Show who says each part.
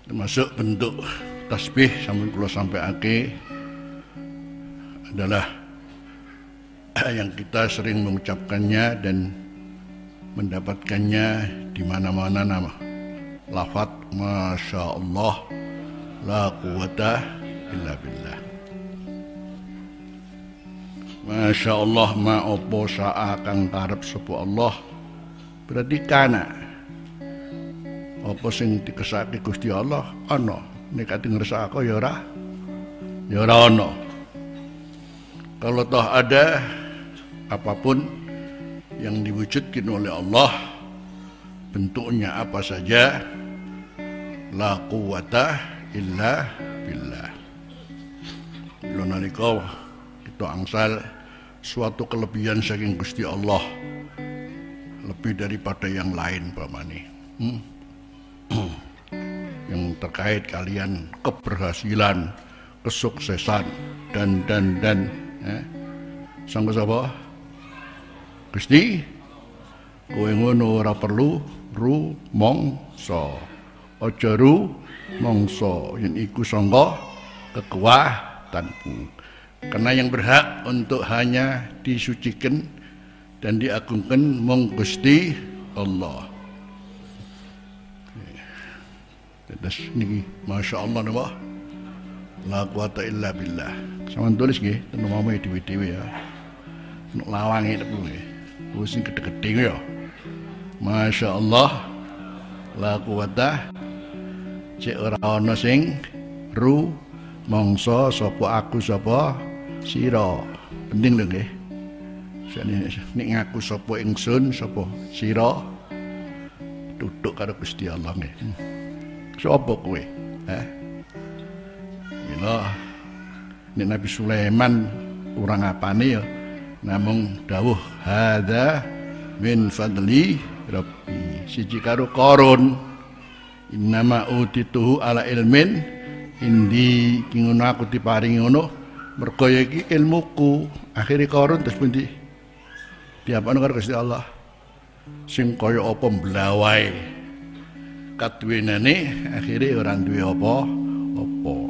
Speaker 1: Termasuk bentuk tasbih sampun kula sampaiake adalah yang kita sering mengucapkannya dan mendapatkannya di mana-mana nama lafaz Masya Allah la quwata illa billah. Masya Allah ma opo sa'a kang karep sapa Allah berarti kana apa sing dikesake Gusti Allah ana nek ati ngersakake ya ora ana. Kalau toh ada apapun yang diwujudkan oleh Allah bentuknya apa saja la quwata illa billah. Lha nalika kita angsal suatu kelebihan saking Gusti Allah lebih daripada yang lain pamane yang terkait kalian keberhasilan, kesuksesan dan sanggo sapa Gusti kowe ngono ora perlu rumangsa aja rumangsa yen iku sangka kekuatanmu karena yang berhak untuk hanya disucikan dan diagungkan mung Gusti Allah. Terus niki Masya Allah napa la quwata illa billah. Sampeyan tulis nggih ten omah dhewe-dhewe ya. Nek lawange tepu nggih. Wis sing gedhe-gedhe ya. Masya Allah la quwata cek ora ana sing mangsa sapa aku sapa sira. Penting lho nggih. Nek ngaku sapa ingsun sapa sira duduk karo Gusti Allah nggih. Sapa kowe? Mila nek Nabi Sulaiman kurang apane ya namung dawuh hadza min fadli rabbi. Siji karo Qarun innama utituhu ala ilmin indi ki ngono aku diparingi ngono mergo iki ilmuku. Akhire Qarun terus pundi diapakno karo Gusti Allah sing kaya apa mblawai kaduwenane akhire ora duwe apa-apa.